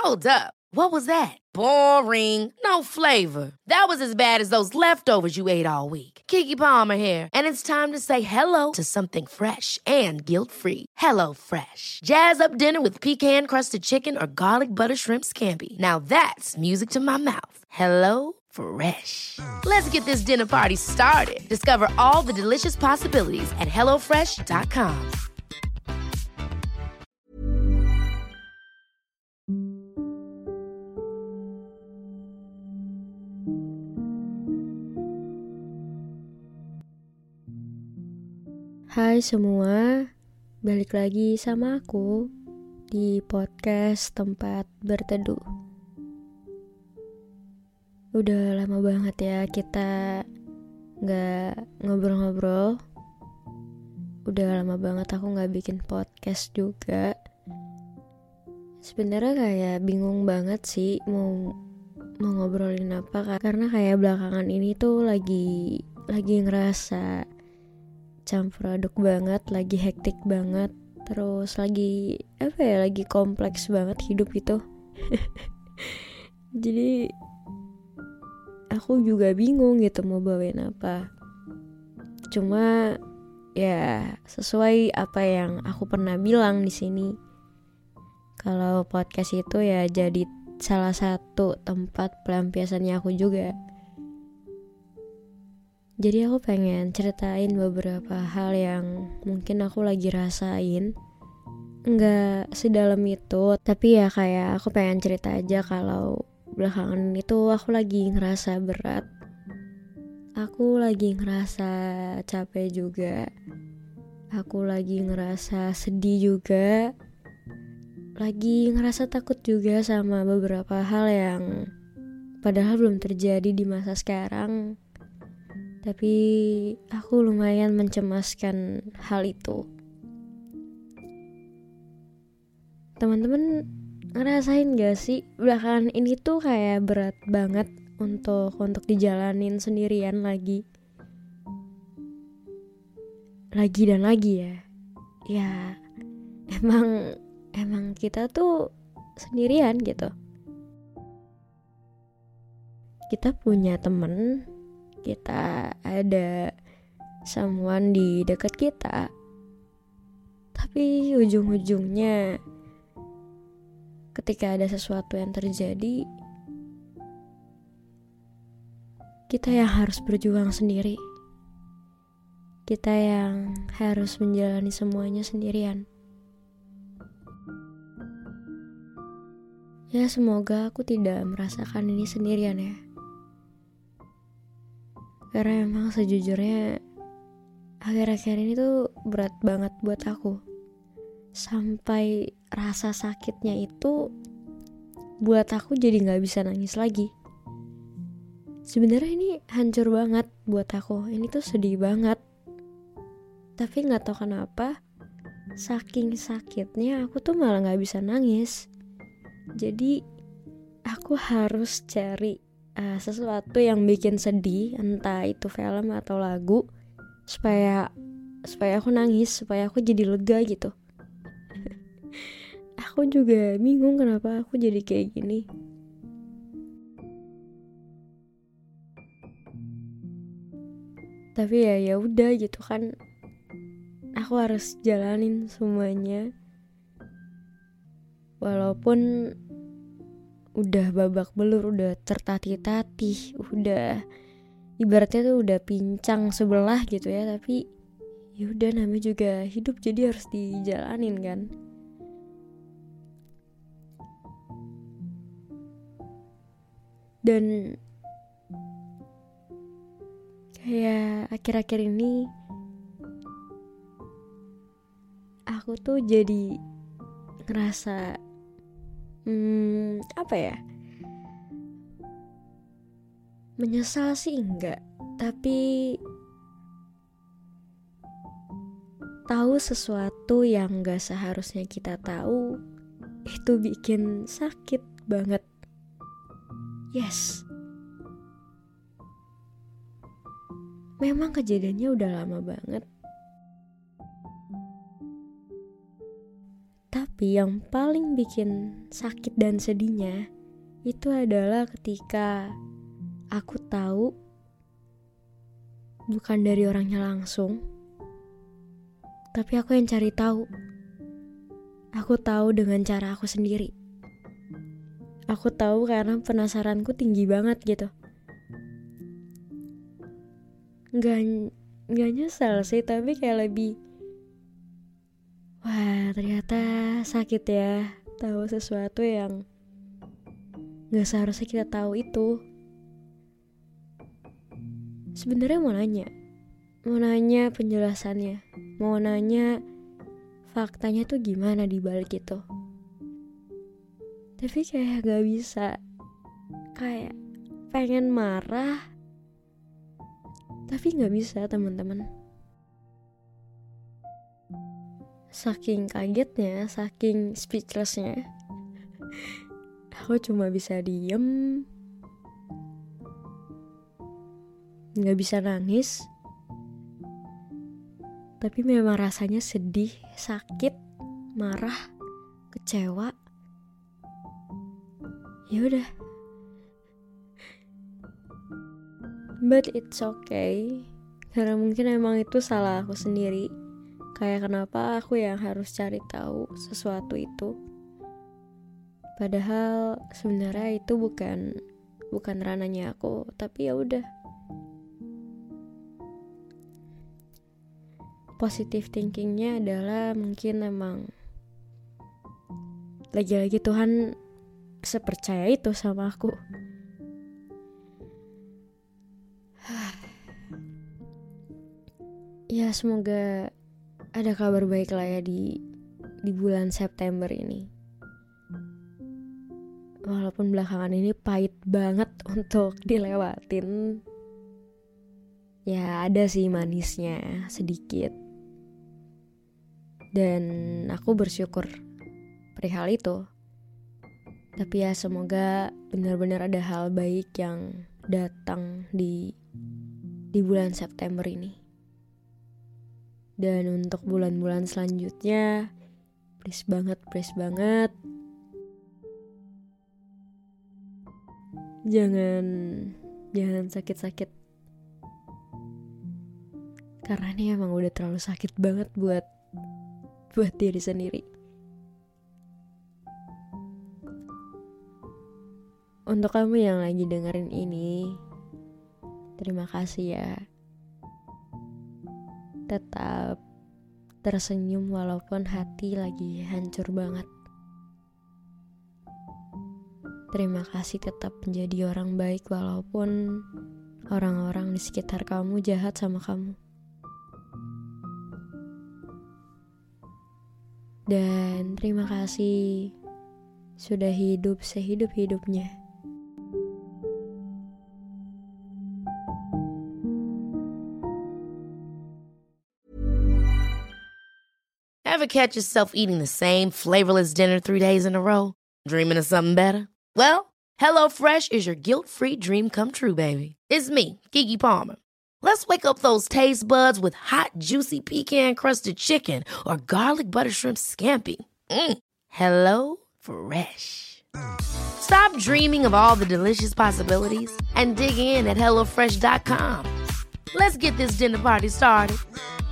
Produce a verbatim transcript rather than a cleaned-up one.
Hold up. What was that? Boring. No flavor. That was as bad as those leftovers you ate all week. Keke Palmer here, and it's time to say hello to something fresh and guilt-free. Hello Fresh. Jazz up dinner with pecan-crusted chicken or garlic butter shrimp scampi. Now that's music to my mouth. Hello Fresh. Let's get this dinner party started. Discover all the delicious possibilities at hello fresh dot com. Hai semua, balik lagi sama aku di podcast tempat berteduh. Udah lama banget ya kita gak ngobrol-ngobrol. Udah lama banget aku gak bikin podcast juga. Sebenarnya kayak bingung banget sih mau mau ngobrolin apa, karena kayak belakangan ini tuh lagi lagi ngerasa campur aduk banget, lagi hektik banget, terus lagi apa ya, lagi kompleks banget hidup itu. Jadi aku juga bingung gitu mau bawain apa. Cuma ya sesuai apa yang aku pernah bilang di sini, kalau podcast itu ya jadi salah satu tempat pelampiasannya aku juga. Jadi aku pengen ceritain beberapa hal yang mungkin aku lagi rasain. Nggak sedalam itu, tapi ya kayak aku pengen cerita aja kalau belakangan itu aku lagi ngerasa berat. Aku lagi ngerasa capek juga. Aku lagi ngerasa sedih juga. Lagi ngerasa takut juga sama beberapa hal yang padahal belum terjadi di masa sekarang. Tapi aku lumayan mencemaskan hal itu. Teman-teman ngerasain gak sih belakangan ini tuh kayak berat banget untuk untuk dijalanin sendirian lagi. Lagi dan lagi ya. Ya emang emang kita tuh sendirian gitu. Kita punya temen, kita ada someone di dekat kita, tapi ujung-ujungnya ketika ada sesuatu yang terjadi, kita yang harus berjuang sendiri, kita yang harus menjalani semuanya sendirian. Ya semoga aku tidak merasakan ini sendirian ya. Karena emang sejujurnya akhir-akhir ini tuh berat banget buat aku. Sampai rasa sakitnya itu buat aku jadi gak bisa nangis lagi. Sebenarnya ini hancur banget buat aku. Ini tuh sedih banget. Tapi gak tahu kenapa, saking sakitnya aku tuh malah gak bisa nangis. Jadi aku harus cari Uh, sesuatu yang bikin sedih, entah itu film atau lagu, supaya supaya aku nangis, supaya aku jadi lega gitu. Aku juga bingung kenapa aku jadi kayak gini. Tapi ya ya udah gitu kan, aku harus jalanin semuanya. Walaupun udah babak belur, udah tertatih-tatih, udah ibaratnya tuh udah pincang sebelah gitu ya, tapi ya udah namanya juga hidup, jadi harus dijalanin kan. Dan kayak akhir-akhir ini aku tuh jadi ngerasa Hmm, apa ya? Menyesal sih enggak, tapi tahu sesuatu yang gak seharusnya kita tahu, itu bikin sakit banget. Yes. Memang kejadiannya udah lama banget. Tapi yang paling bikin sakit dan sedihnya itu adalah ketika aku tahu bukan dari orangnya langsung, tapi aku yang cari tahu. Aku tahu dengan cara aku sendiri. Aku tahu karena penasaranku tinggi banget gitu. Gak, gak nyesel sih, tapi kayak lebih, wah ternyata sakit ya tahu sesuatu yang gak seharusnya kita tahu itu. Sebenarnya mau nanya, mau nanya penjelasannya, mau nanya faktanya tuh gimana di balik itu. Tapi kayak gak bisa, kayak pengen marah, tapi gak bisa teman-teman. Saking kagetnya, saking speechlessnya, aku cuma bisa diem, gak bisa nangis. Tapi memang rasanya sedih, sakit, marah, kecewa. Ya udah. But it's okay. Karena mungkin emang itu salah aku sendiri. Kayak kenapa aku yang harus cari tahu sesuatu itu. Padahal sebenarnya itu bukan bukan ranahnya aku, tapi ya udah. Positive thinkingnya adalah mungkin emang lagi-lagi Tuhan sepercaya itu sama aku. Ya semoga ada kabar baik lah ya di di bulan September ini. Walaupun belakangan ini pahit banget untuk dilewatin, ya ada sih manisnya sedikit. Dan aku bersyukur perihal itu. Tapi ya semoga benar-benar ada hal baik yang datang di di bulan September ini. Dan untuk bulan-bulan selanjutnya, please banget, please banget, jangan jangan sakit-sakit. Karena ini emang udah terlalu sakit banget buat buat diri sendiri. Untuk kamu yang lagi dengerin ini, terima kasih ya. Tetap tersenyum walaupun hati lagi hancur banget. Terima kasih tetap menjadi orang baik walaupun orang-orang di sekitar kamu jahat sama kamu. Dan terima kasih sudah hidup sehidup-hidupnya. Ever catch yourself eating the same flavorless dinner three days in a row? Dreaming of something better? Well, HelloFresh is your guilt-free dream come true, baby. It's me, Keke Palmer. Let's wake up those taste buds with hot, juicy pecan-crusted chicken or garlic butter shrimp scampi. Mm. Hello Fresh. Stop dreaming of all the delicious possibilities and dig in at hello fresh dot com. Let's get this dinner party started.